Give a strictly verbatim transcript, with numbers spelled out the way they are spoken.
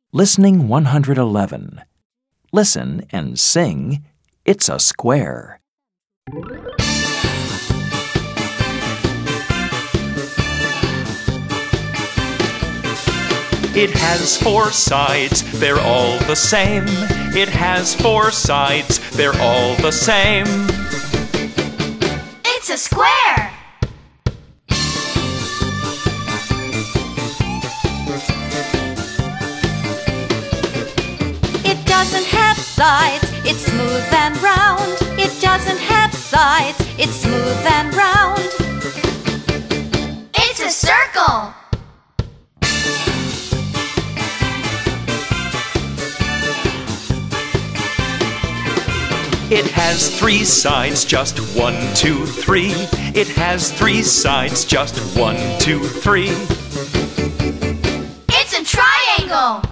Listening one hundred eleven. Listen and sing, "It's a square." It has four sides, they're all the same. It has four sides, they're all the same. It's a square! It doesn't have sides, it's smooth and round. It doesn't have sides, it's smooth and round. It's a circle! It has three sides, just one, two, three. It has three sides, just one, two, three. It's a triangle!